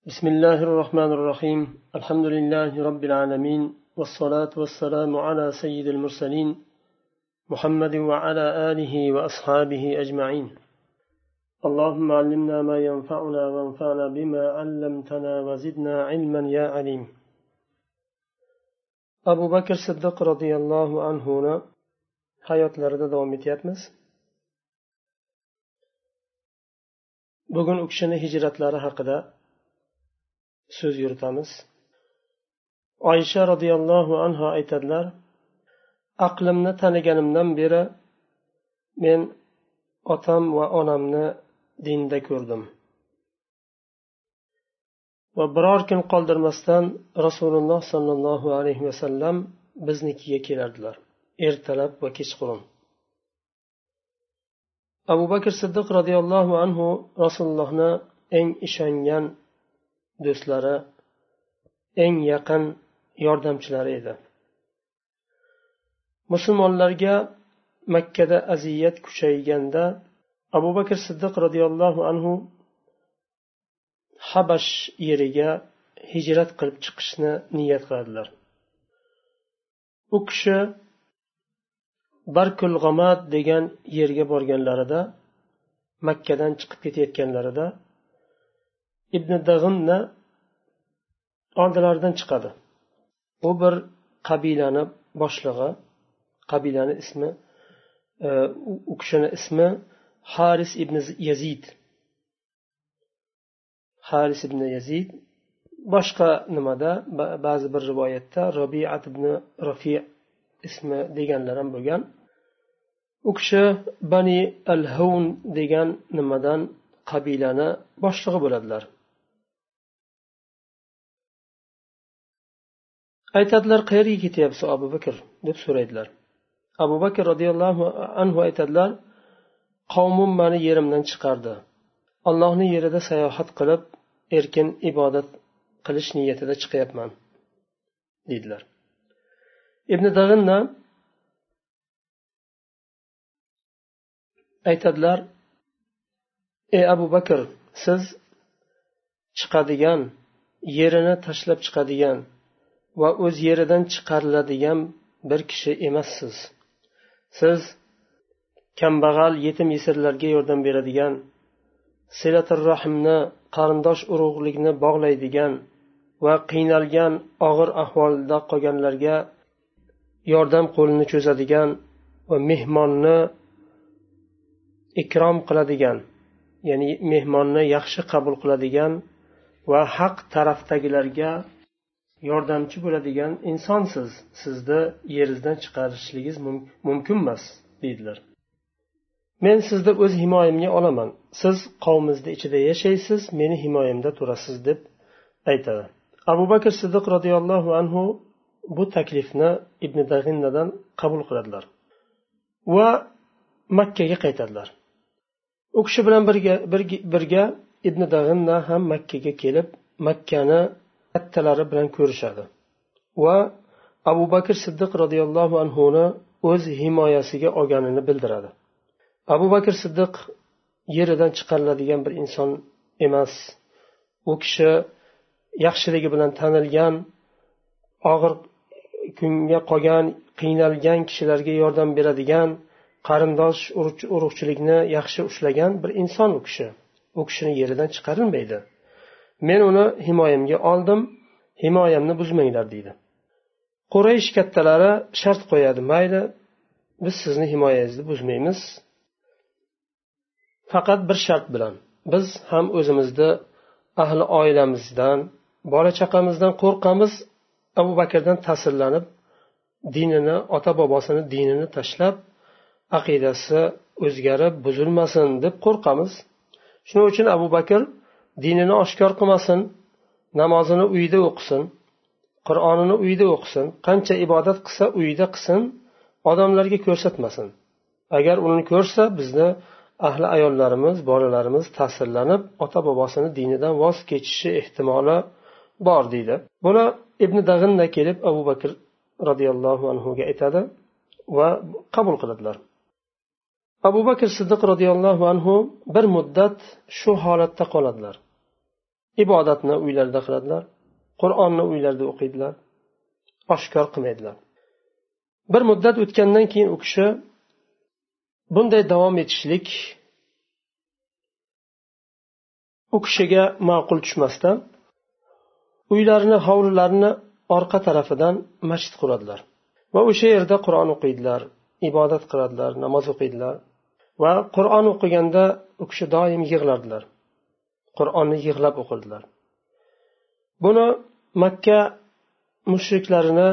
بسم الله الرحمن الرحيم الحمد لله رب العالمين والصلاة والسلام على سيد المرسلين محمد وعلى آله وأصحابه أجمعين اللهم علمنا ما ينفعنا وانفعنا بما علمتنا وزدنا علما يا عليم أبو بكر الصديق رضي الله عنه hayotlarida davom etyapmiz. Bugun u kishini hijratlari haqida so'z yuritamiz. Oysha radhiyallohu anha aytadilar: aqlimni taniganimdan beri men otam va onamni dinda ko'rdim va biror kun qoldirmasdan Rasululloh sollallohu alayhi vasallam biznikiga kelardilar, ertalab va kechqurun. Abu Bakr Siddiq radhiyallohu anhu Rasulullohni eng ishongan do'stlari, eng yaqin yordamchilari edi. Musulmonlarga Makkada aziyat kuchayganda Abu Bakr Siddiq radhiyallohu anhu Habash yeriga hijrat qilib chiqishni niyat qiladilar. U kishi Barkul G'amad degan yerga borganlarida, Makkadan chiqib ketayotganlarida Ibn Dag'inna oldilaridan chiqadi. U bir qabilani boshlig'i, qabilani ismi, u kishini ismi Haris ibn Yazid. Haris ibn Yazid, boshqa nimada ba'zi bir rivoyatda Rabi'at ibn Rafi' ismi deganlar ham bo'lgan. U kishi Bani al-Hawn degan nimadan qabilani boshlig'i bo'ladilar. Aytadilar: qayerga ketyapsiz Abu Bakr deb so'raydilar. Abu Bakr radhiyallohu anhu aytadilar: qavmim meni yerimdan chiqardi. Allohning yerida sayohat qilib, erkin ibodat qilish niyatida chiqyapman dedilar. Ibn Dag'inna aytadilar: ey Abu Bakr, siz chiqadigan, yerini tashlab chiqadigan va o'z yeridan chiqariladigan bir kishi emassiz. Siz kambag'al, yetim yesirlarga yordam beradigan, silatul rahmni, qarindosh urug'likni bog'laydigan va qiynalgan, og'ir ahvolda qolganlarga yordam qo'lini cho'zadigan va mehmonni ikrom qiladigan, ya'ni mehmonni yaxshi qabul qiladigan va haq tarafdagilarga yordamchi bo'ladigan insonsiz. Sizni yeringizdan chiqarishligingiz mumkin emas dedilar. Men sizni o'z himoyamga olaman. Siz qavmingizni ichida yashaysiz, meni himoyamda turasiz deb aytadi. Abu Bakr Siddiq radhiyallohu anhu bu taklifni Ibn Dag'innadan qabul qiladilar va Makkaga qaytadilar. U kishi bilan birga Ibn Dag'inna ham Makkaga kelib, Makkani kattalari bilan ko'rishadi va Abu Bakr Siddiq radhiyallohu anhuni o'z himoyasiga olganini bildiradi. Abu Bakr Siddiq yeridan chiqariladigan bir inson emas. U kishi yaxshiligi bilan tanilgan, og'ir kunga qolgan, qiynalgan kishilarga yordam beradigan, qarindosh urug'chilikni yaxshi ushlagan bir inson u kishi. U kishini yeridan chiqarilmaydi. Men uni himoyamga oldim, himoyamni buzmanglar deydi. Quraysh kattalari shart qo'yadi: mayli, biz sizni himoyangizni buzmaymiz, faqat bir shart bilan. Biz ham o'zimizni, ahli oilamizdan, bola chaqamizdan qo'rqamiz. Abu Bakrdan ta'sirlanib, dinini, ota bobosini dinini tashlab, aqidasi o'zgarib buzilmasin deb qo'rqamiz. Shuning uchun Abu Bakr dinini oshkor qilmasin, namozini uyida o'qisin, Qur'onini uyida o'qisin, qancha ibodat qilsa uyida qilsin, odamlarga ko'rsatmasin. Agar uni ko'rsa, bizni ahli ayollarimiz, bolalarimiz ta'sirlanib, ota bobosini dinidan voz kechishi ehtimoli bor deydi. Buni Ibn Dag'inna kelib Abu Bakr radhiyallohu anhuga aytadi va qabul qiladilar. Abu Bakr Siddiq radhiyallohu anhu bir muddat shu holatda qoladilar. ibodatni uylarida qiladilar, Qur'onni uylarida o'qiydilar, oshkor qilmaydilar. Bir muddat o'tgandan keyin u kishi bunday davom etishlik u kishiga ma'qul tushmasdan uylarini, hovlilarini orqa tarafidan masjid quradilar va o'sha yerda Qur'on o'qiydilar, ibodat qiladilar, namoz o'qiydilar va Qur'on o'qiganda u kishi doim yig'lardilar. Qur'onni yig'lab o'qirdilar. Buni Makka mushriklarini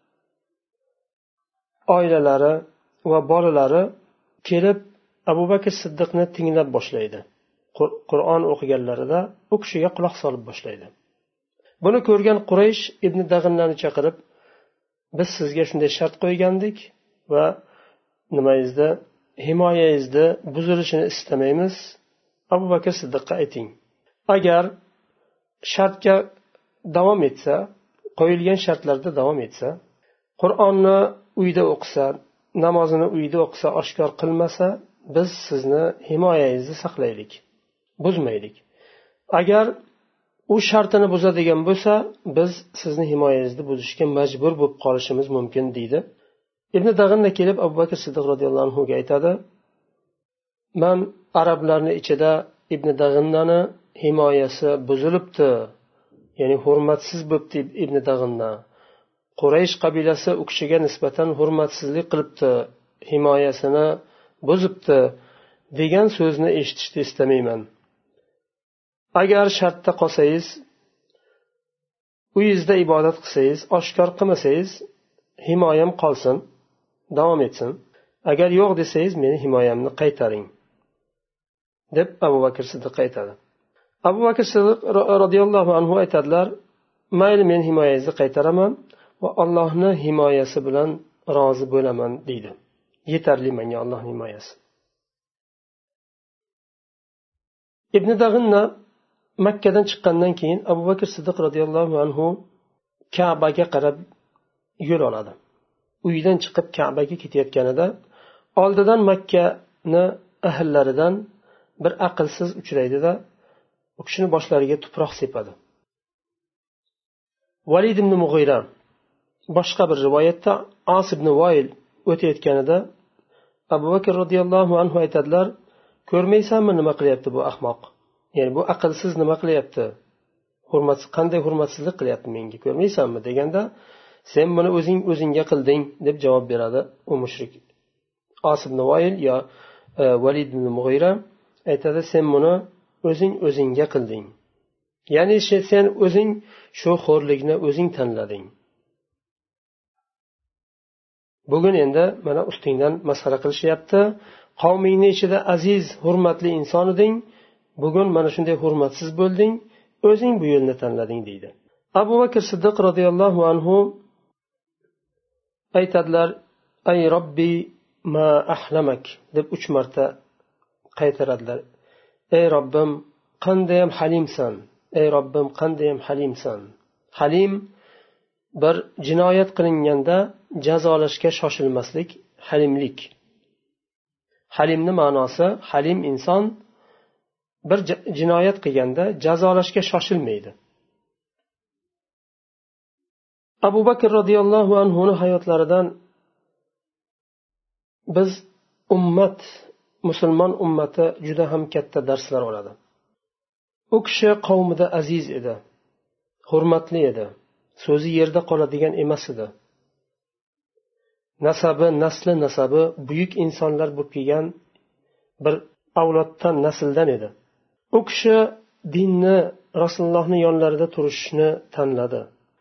oilalari va bolalari kelib Abu Bakr Siddiqni tinglab boshlaydi. Qur'on o'qiganlarida u kishiga quloq solib boshlaydi. Buni ko'rgan Quraysh ibn Dag'inlarni chaqirib, biz sizga shunday shart qo'ygandik va nimangizda himoyangizni buzilishini istamaymiz. Abu Bakr Siddiqqa ayting. Agar shartga davom etsa, qo'yilgan shartlarda davom etsa, Qur'onni uyda o'qisa, namozini uyda o'qisa, oshkor qilmasa, biz sizni himoyangizni saqlaylik, buzmaylik. Agar u shartini buzadigan bo'lsa, biz sizni himoyangizni buzishga majbur bo'lib qolishimiz mumkin deydi. Ibn Dag'inna kelib Abu Bakr Siddiq radhiyallohu anhu ga aytadi: "Men arablarning ichida Ibn Dag'innani himoyasi buzilibdi, ya'ni hurmatsiz bo'libdi Ibn Dag'inna. Quraysh qabilasi u kishiga nisbatan hurmatsizlik qilibdi, himoyasini buzibdi degan so'zni eshitishni istamayman. Agar shartda qolsangiz, uyingizda ibodat qilsangiz, oshkor qilmasangiz, himoyam qolsin, davom etsin. Agar yo'q desangiz, meni himoyamni qaytaring" deb Abu Bakr Siddiq aytadi. Abu Bakr Siddiq radhiyallohu anhu aytadilar: "Mayli, men himoyangizni qaytaraman va Allohning himoyasi bilan rozi bo'laman" deydi. Yetarli menga Allohning himoyasi. Ibn Dag'inna Makkadan chiqqandan keyin Abu Bakr Siddiq radhiyallohu anhu Ka'baga qarab yo'l oladi. Uydan chiqib Ka'baga ketayotganida oldidan Makkani ahllaridan bir aqlsiz uchraydi-da, u kishini boshlariga tuproq sepadi. Valid ibn Mughira boshqa bir rivoyatda As ibn Voil o'tayotganida Abu Bakr radhiyallohu anhu aytadilar: "Ko'rmaysanmi nima qilyapti bu ahmoq? Ya'ni bu aqlsiz nima qilyapti? Qanday hurmatsizlik qilyapti menga, ko'rmaysanmi?" deganda, "Sen buni o'zingga qilding" deb javob beradi u mushrik. As ibn Voil yo Valid ibn Mughira aytadi: "Sen buni o'zingga qilding. Ya'ni sen o'zing shu xo'rlikni o'zing tanlading. Bugun endi mana ustingdan masxara qilishyapti. Qavmingning ichida aziz, hurmatli inson eding. Bugun mana shunday hurmatsiz bo'lding. O'zing bu yo'lni tanlading" deydi. Abu Bakr Siddiq radhiyallohu anhu aytadilar: "Ay Robbi ma ahlamak" deb 3 marta qaytaradilar. "Ey Robbim, qandayyam halimsan. Ey Robbim, qandayyam halimsan." Halim bir jinoyat qilinganda jazolashga shoshilmaslik, halimlik. Halimni ma'nosi, halim inson bir jinoyat qilganda jazolashga shoshilmaydi. Abu Bakr radhiyallohu anhuning hayotlaridan biz musulmon ummati juda ham katta darslar oladi. U kishi qavmida aziz edi, hurmatli edi, so'zi yerda qoladigan emas edi. Nasabi buyuk insonlar bo'lib kelgan bir avloddan, nasldan edi. U kishi dinni, Rasulullohning yonlarida turishni tanladi.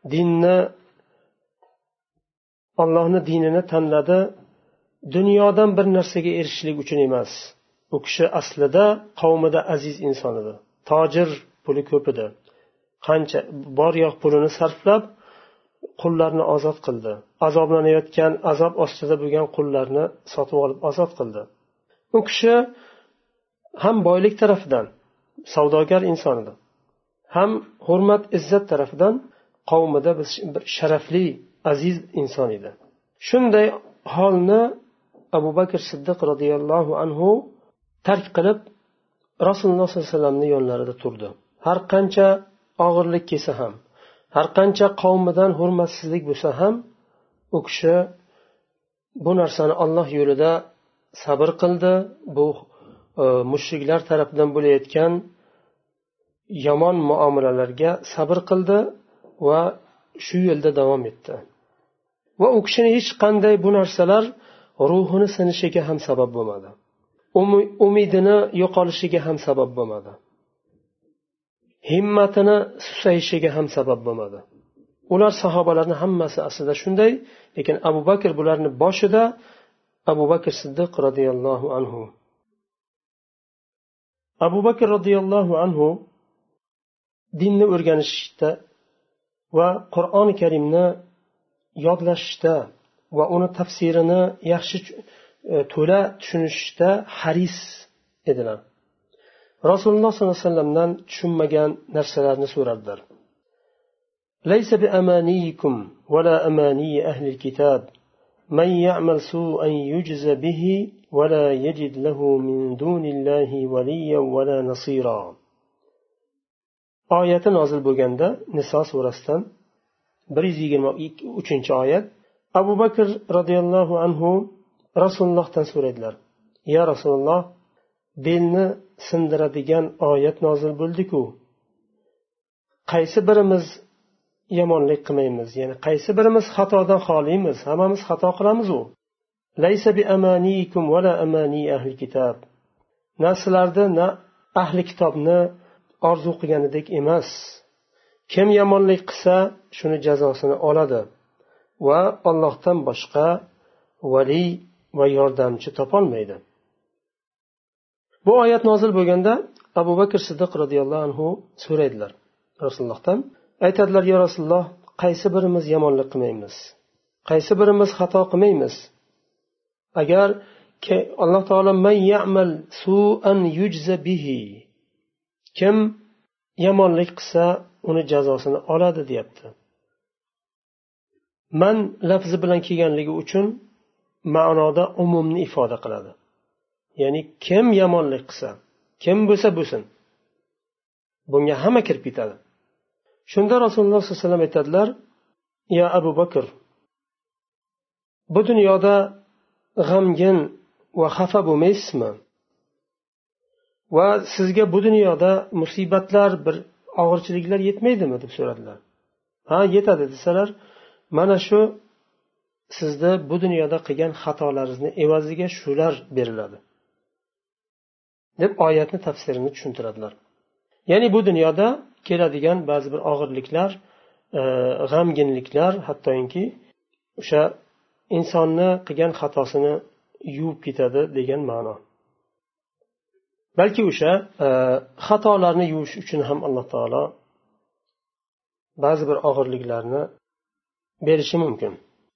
Allohning dinini tanladi. Dunyodan bir narsaga erishishlik uchun emas. U kishi aslida qavmida aziz inson edi. Tojir, puli ko'p edi. Qancha bor yo'q pulini sarflab qullarni ozod qildi. Azoblanayotgan, azob ostida bo'lgan qullarni sotib olib ozod qildi. U kishi ham boylik tarafidan savdogar inson edi, ham hurmat, izzat tarafidan qavmida bir sharafli, aziz inson edi. Shunday holni Abu Bakr Siddiq radhiyallohu anhu tark qilib Rasululloh sollallohu alayhi vasallamning yonlarida turdi. Har qancha og'irlik kelsa ham, har qancha qavmidan hurmatsizlik bo'lsa ham, u kishi bu narsani Alloh yo'lida sabr qildi. Bu mushriklar tarafidan bo'layotgan yomon muomalalarga sabr qildi va shu yo'lda davom etdi. Va u kishini hech qanday bu narsalar ruhini sinishiga ham sabab bo'lmadi. Umidini yo'qolishiga ham sabab bo'lmadi. Himmatini susayishiga ham sabab bo'lmadi. Ular sahobalarning hammasi aslida shunday, lekin Abu Bakr bularni boshida Abu Bakr Siddiq radhiyallohu anhu. Abu Bakr radhiyallohu anhu dinni o'rganishda va Qur'oni Karimni yodlashda va uni tafsirini yaxshi to'la tushunishda haris edilar. Rasululloh sollallohu alayhi vasallamdan tushunmagan narsalarni so'radilar. Laysa bi amaniyikum va la amani ahli alkitab man ya'mal su'an yujza bihi va la yajid lahu min dunillahi waliyyan va la nasira. Oyati nozil bo'lganda Niso surasidan 123-oyat. Abu Bakr radhiyallohu anhu Rasulullohdan so'radilar: "Ya Rasululloh, belni sindiradigan oyat nozil bo'ldi-ku. Qaysi birimiz yomonlik qilmaymiz? Ya'ni qaysi birimiz xatodan xoliymiz? Hammamiz xato qilamiz-u. Laysa bi amaniyikum va la amani ahli kitob. Narsalarda na ahli kitobni orzu qilganidek emas. Kim yomonlik qilsa, shuni jazosini oladi va Allohdan boshqa vali va yordamchi topolmaydi." Bu oyat nozil bo'lganda Abu Bakr Siddiq radhiyallohu anhu so'raydilar Rasulullohdan. Aytadilar: "Ya Rasululloh, qaysi birimiz yomonlik qilmaymiz? Qaysi birimiz xato qilmaymiz? Agar Alloh taolo man ya'mal su'an yujza bihi, kim yomonlik qilsa, uni jazosini oladi deyapti." Man lafzi bilan kelganligi uchun ma'noda umumni ifoda qiladi. Ya'ni kim yomonlik qilsa, kim bo'lsa bo'lsin, bunga hamma kirib ketadi. Shunda Rasululloh sollallohu alayhi vasallam aytadilar: "Ya Abu Bakr, bu dunyoda g'amgin va xafa bo'lmaysizmi? Va sizga bu dunyoda musibatlar, bir og'irchiliklar yetmaydimi?" deb so'radilar. "Ha, yetadi" desalar, "Mana shu sizda bu dunyoda qilgan xatolaringizni evaziga shular beriladi" deb oyatni tafsirini tushuntiradilar. Ya'ni bu dunyoda keladigan ba'zi bir og'irliklar, g'amginliklar, hattoki o'sha insonni qilgan xatosini yuvib ketadi degan ma'no. Balki o'sha xatolarni yuvish uchun ham Alloh taolo ba'zi bir og'irliklarni berishi mumkin.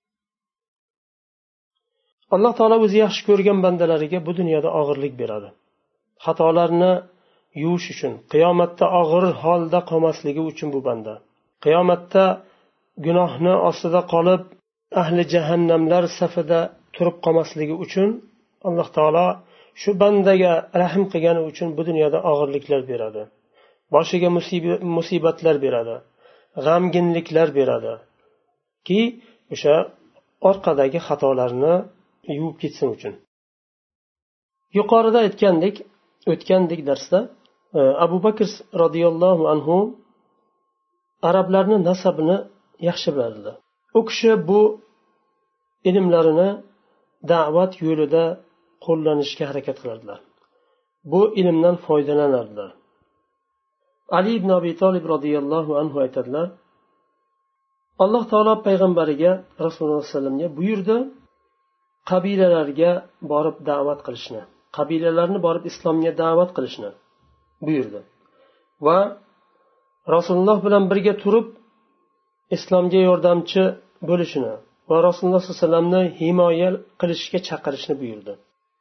Alloh taolo o'zi yaxshi ko'rgan bandalariga bu dunyoda og'irlik beradi. Xatolarni yuvish uchun, qiyomatda og'ir holda qolmasligi uchun bu banda. Qiyomatda gunohni ostida qolib, ahli jahannamlar safida turib qolmasligi uchun Alloh taolo shu bandaga rahm qilgani uchun bu dunyoda og'irliklar beradi. Boshiga musibatlar beradi, g'amginliklar beradi ki o'sha orqadagi xatolarni yuvib ketsin uchun. Yuqorida o'tgandek darsda Abu Bakr radhiyallohu anhu arablarni nasabini yaxshi bilardi. U kishi bu ilmlarini da'vat yo'lida qo'llanishga harakat qilardilar. Bu ilmdan foydalanardilar. Ali ibn Abi Talib radhiyallohu anhu aytadilar: Alloh taolo payg'ambariga Rasululloh sollallohu alayhi vasallamga buyurdi, qabilalarga borib da'vat qilishni, qabilalarni borib islomga da'vat qilishni buyurdi va Rasululloh bilan birga turib islomga yordamchi bo'lishini va Rasululloh sollallohu alayhi vasallamni himoya qilishga chaqirishni buyurdi.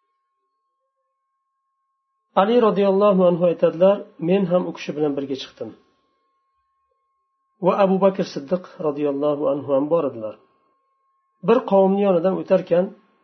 Ali radhiyallohu anhu aytadilar: men ham u kishi bilan birga chiqdim va Abu Bakr Siddiq radhiyallohu anhu ham bordilar. Bir qavmning yonidan o'tarkan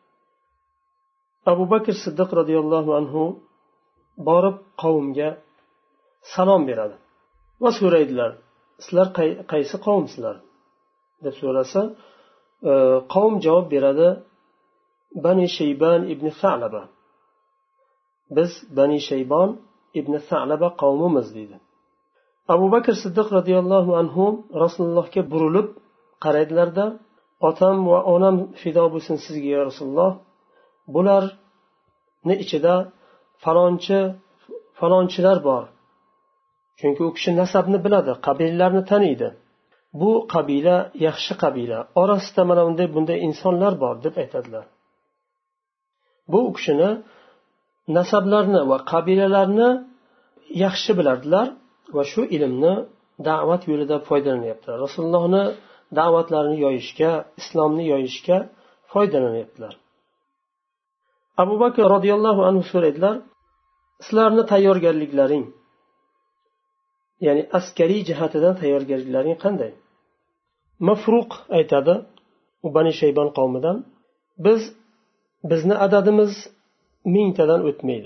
Abu Bakr Siddiq radhiyallohu anhu borib qavmga salom beradi va so'raydilar, sizlar qaysi qavmsizlar deb so'rasa, qavm javob beradi, Bani Shayban ibn Sa'laba. Biz Bani Shaybon ibn Sa'laba qavmimiz deydi. Abu Bakr Siddiq radhiyallohu anhu Rasulullohga burilib qaraydilarda, otam va onam fido bo'lsin sizga ya Rasululloh, bularni ichida falonchilar bor. Chunki u kishi nasabni biladi, qabilalarni taniydi. Bu qabila yaxshi qabila, orasida mana bunday insonlar bor deb aytadilar. Bu u kishini nasablarni va qabilalarni yaxshi bilardilar va shu ilmni da'vat yo'lida foydalanyaptilar. Rasulullohni da'vatlarini yoyishga, islomni yoyishga foydalanyaptilar. Abu Bakr radhiyallohu anhu so'raydilar, sizlarni tayyorgarliklaring, ya'ni askariy jihatidan tayyorgarliklaring qanday? Mafruq aytadi, u Bani Shaybon qavmidan, bizni adadimiz 1000 tadan o'tmaydi.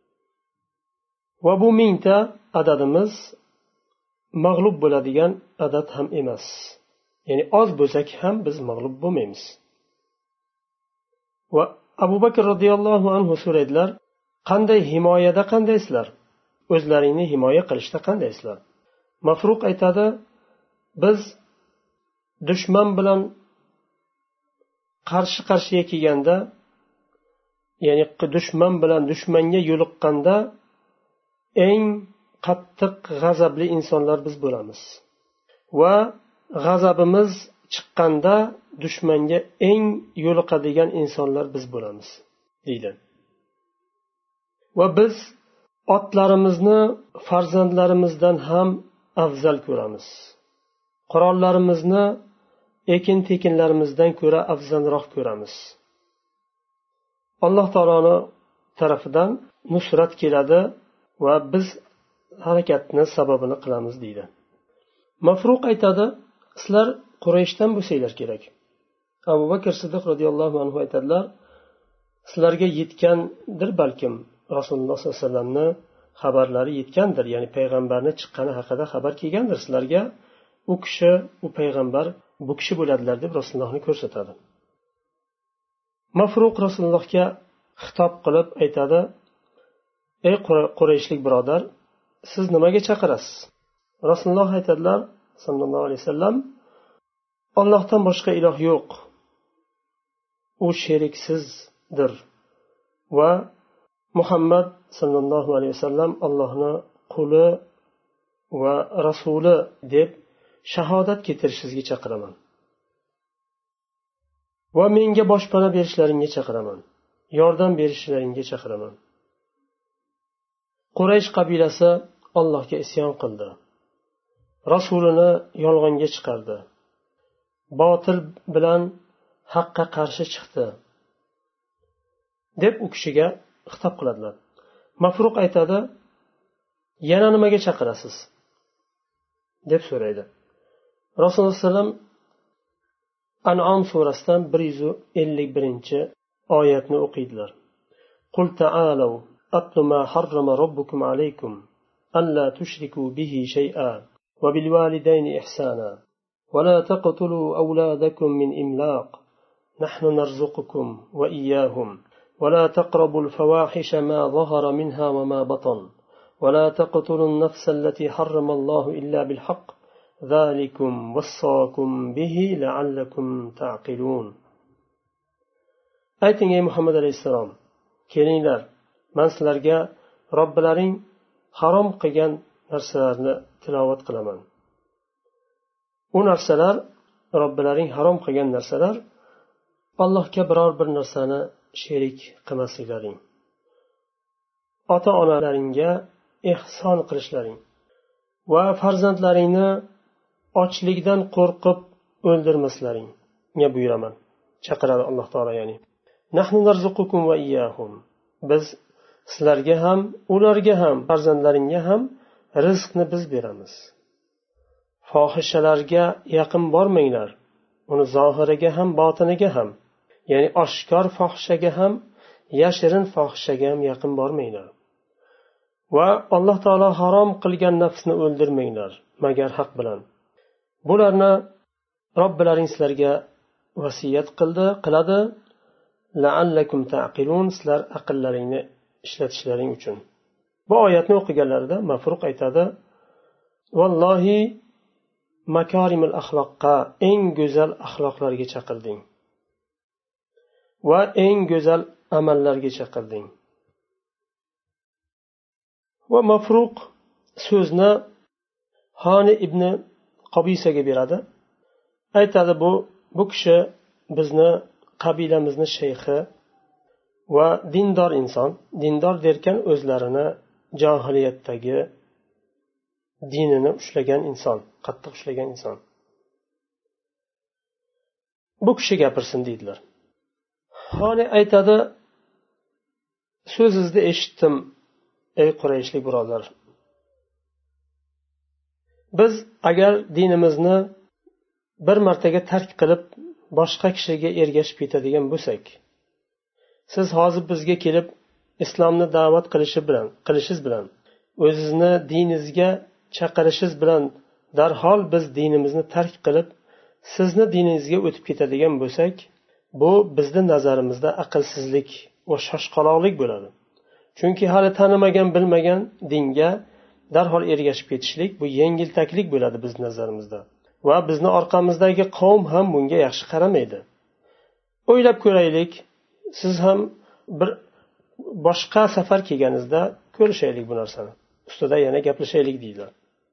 Va bu 1000 ta adadimiz mag'lub bo'ladigan adad ham emas. Ya'ni oz bo'lsak ham biz mag'lub bo'lmaymiz. Va Abu Bakr radhiyallohu anhu so'raydilar, qanday himoyada qandaysizlar? O'zlaringni himoya qilishda qandaysizlar? Mafruq aytadi, biz dushman bilan qarshi-qarshiga kelganda, ya'ni dushmanga yo'liqqanda eng qattiq g'azabli insonlar biz bo'lamiz. Va g'azabimiz chiqqanda dushmanga eng yo'liqadigan insonlar biz bo'lamiz, deydi. Va biz otlarimizni farzandlarimizdan ham afzal ko'ramiz. Qurollarimizni ekin-tekinlarimizdan ko'ra afzalroq ko'ramiz. Alloh taoloning tarafidan nusrat keladi va biz harakatni sababini qilamiz, deydi. Mafruq aytadi, sizlar Qurayshdan bo'lsanglar kerak. Abu Bakr Siddiq radhiyallohu anhu aytadilar, sizlarga yetgandir balkim Rasululloh sollallohu alayhi vasallamni xabarlari yetgandir, ya'ni payg'ambarni chiqqani haqida xabar kelgandir sizlarga. U kishi, u payg'ambar bu kishi bo'ladilar deb Rasulullohni ko'rsatadi. Mafruq Rasulullohga xitob qilib aytadi, ey Qurayshlik birodar, siz nimaga chaqirasiz? Rasululloh aytadilar sallallohu alayhi vasallam, Allohdan boshqa iloh yo'q. U sheriksizdir va Muhammad sallallohu alayhi vasallam Allohning quli va rasuli deb shahodat keltirishingizga chaqiraman. Va menga boshpana berishlaringga chaqiraman. Yordam berishlaringga chaqiraman. Quraysh qabilasi Allohga isyon qildi. Rasulini yolg'onga chiqardi. Botil bilan haqqa qarshi chiqdi deb u kishiga xitob qiladilar. Mafruq aytadi, yana nimaga chaqirasiz deb so'raydi. Rasululloh sallam An'am surasidan 151-oyatni o'qiydilar. Qul ta'alu atlu ma harrama robbukum alaykum alla tushriku bihi shay'an va bil walidayni ihsana va la taqtulu awladakum min imlaq nahnu narzuqukum va iyyahum va la taqrabul fawahisha ma zahara minha wa ma batan va la taqtulun nafsa allati harrama Allahu illa bil haqq zalikum wassakum bihi la'allakum ta'qilun. Ayting ey Muhammad alayhisalom, kelinglar, men sizlarga Robbilaring harom qilgan narsalarni tilovat qilaman. U narsalar, Robbilaring harom qilgan narsalar, Allohga biror bir narsani sherik qilmasliklaring. Ota-onalaringga ihson qilishlaring va farzandlaringni ochlikdan qo'rqib o'ldirmaslaringga buyuraman. Chaqiradi Alloh taolo, ya'ni nahnu narzuqukum va iyyahum. Biz sizlarga ham, ularga ham, farzandlaringga ham rizqni biz beramiz. Fohishalarga yaqin bormanglar. Uni zohiriga ham, botiniga ham, ya'ni oshkor fohishaga ham, yashirin fohishaga ham yaqin bormanglar. va alloh taolo harom qilgan nafsni o'ldirmanglar magar haq bilan. Bularni Robbilaring sizlarga vasiyat qiladi, la'allakum ta'qilun, sizlar aqllaringni ishlatishlaring uchun. Bu oyatni o'qiganlarida Mafruq aytadi: vallohi makarimul axloqqa, eng go'zal axloqlarga chaqirding va eng go'zal amallarga chaqirding. Va Mafruq so'zni Hani ibn Qobisaga beradi. Aytadi, bu kishi bizni qabilamizni shayxi va dindor inson. Dindor derkan, o'zlarini johiliyatdagi dinini ushlagan inson, qattiq ushlagan inson. Bu kishi gapirsin deydilar. Hani aytadi, so'zingizni eshitdim ey Qurayshlik birodar. Biz agar dinimizni bir martaga tark qilib boshqa kishiga ergashib ketadigan bo'lsak, siz hozir bizga kelib islomni da'vat qilishingiz bilan o'zingizni diningizga chaqirishingiz bilan darhol biz dinimizni tark qilib sizni diningizga o'tib ketadigan bo'lsak, bu bizni nazarimizda aqlsizlik va shoshqaloqlik bo'ladi. Chunki hali tanimagan, bilmagan dinga darhol ergashib ketishlik bu yengiltaklik bo'ladi biz nazarimizda. Va bizni orqamizdagi qavm ham bunga yaxshi qaramaydi. O'ylab ko'raylik, siz ham bir boshqa safar kelganingizda ko'rishaylik bu narsani. Ustida yana gaplashaylik deydilar.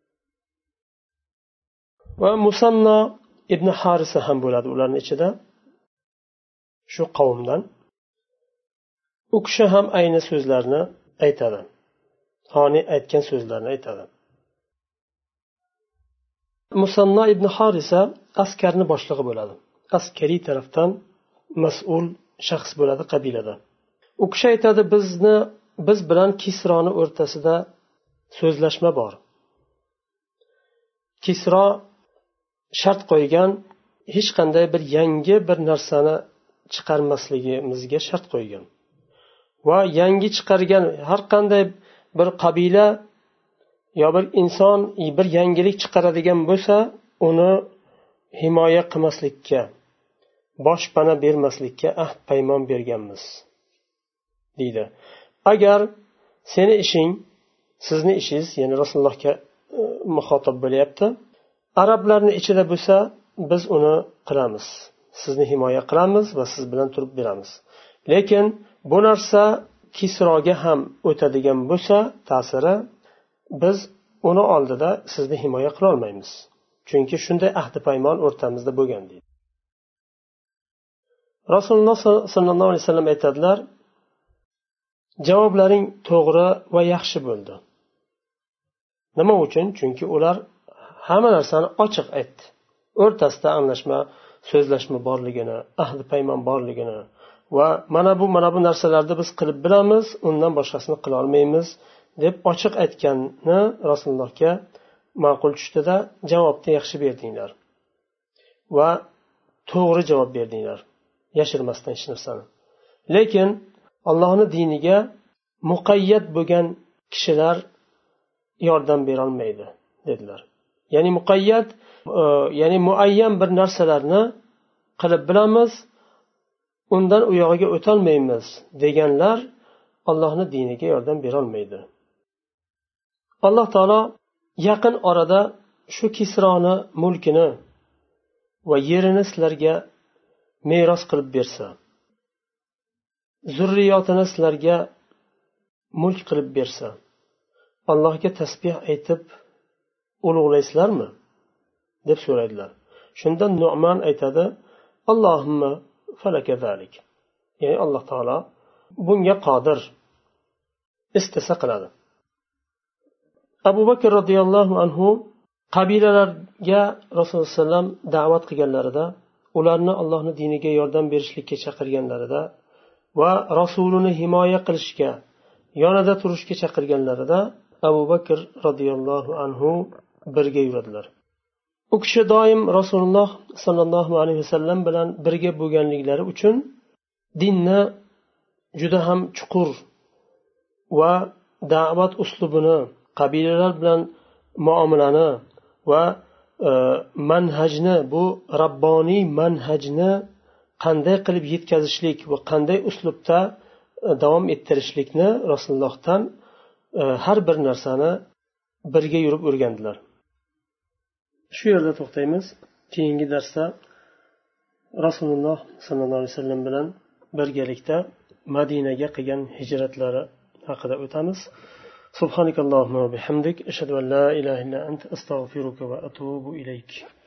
Va Musanno ibn Harisa ham bo'ladi ularning ichida, shu qavmdan. U kishi ham ayni so'zlarni aytadi. Hani aytgan so'zlarni aytadi. Musanno ibn Harisa askarni boshlig'i bo'ladi. Askariy tarafdan mas'ul shaxs bo'ladi qabilada. U kishi aytadi, biz bilan Kisroni o'rtasida so'zlashma bor. Kisro shart qo'ygan, hech qanday bir yangi bir narsani chiqarmasligimizga shart qo'ygan. Va yangi chiqargan har qanday bir qabila yo bir inson bir yangilik chiqaradigan bo'lsa, uni himoya qilmaslikka, boshpana bermaslikka ahd paymon berganmiz deydi. Agar seni ishing, sizni ishingiz, ya'ni Rasulullohga muxotab bo'lyapti, arablarning ichida bo'lsa, biz uni qilamiz. Sizni himoya qilamiz va siz bilan turib beramiz. Lekin bu narsa Kisroga ham o'tadigan bo'lsa, ta'siri, biz uni oldida sizni himoya qila olmaymiz. Chunki shunday ahdi paymon o'rtamizda bo'lgan deydi. Rasululloh sollallohu alayhi vasallam aytadilar, javoblaring to'g'ri va yaxshi bo'ldi. Nima uchun? Chunki ular hamma narsani ochiq aytdi. O'rtasida anglashma, so'zlashma borligini, ahdi paymon borligini va mana bu narsalarni biz qilib bilamiz, undan boshqasini qila olmaymiz deb ochiq aytganni Rasulullohga ma'qul tushdida, javobni yaxshi berdinglar va to'g'ri javob berdinglar, yashirmasdan hech narsani. Lekin Allohning diniga muqayyat bo'lgan kishilar yordam bera olmaydi dedilar. Ya'ni muqayyat, ya'ni muayyan bir narsalarni qilib bilamiz, undan u yog'iga o'tolmaymiz deganlar Allohning diniga yordam bera olmaydi. Alloh taolo yaqin orada shu Kisroni mulkini va yerini sizlarga meros qilib bersa, zurriyotini sizlarga mulk qilib bersa, Allohga tasbih aytib ulug'laysizlarmi deb so'raydilar. Shunda Nu'man aytadi, Allohumma falaka zalik. Ya'ni Alloh taolo bunga qodir, istasa qiladi. Abu Bakr radhiyallohu anhu qabilalarga Rasululloh sallam da'vat qilganlarida, ularni Allohning diniga yordam berishlikka chaqirganlarida va Rasulini himoya qilishga, yonida turishga chaqirganlarida Abu Bakr radhiyallohu anhu birga yuradilar. U kishi doim Rasululloh sallallohu alayhi vasallam bilan birga bo'lganliklari uchun dinni juda ham chuqur va da'vat uslubini, qabilalar bilan muomalani va manhajni, bu rabboniy manhajni qanday qilib yetkazishlik va qanday uslubda davom ettirishlikni rasulullohdan har bir narsani birga yurib o'rgandilar. Shu yerda to'xtaymiz. Keyingi darsda rasululloh sollallohu alayhi vasallam bilan birgalikda Madinaga qilgan hijratlari haqida o'tamiz. Subhanakallohumma va bihamdik ashhadu an la ilaha illa anta astaghfiruka va atubu ilayk.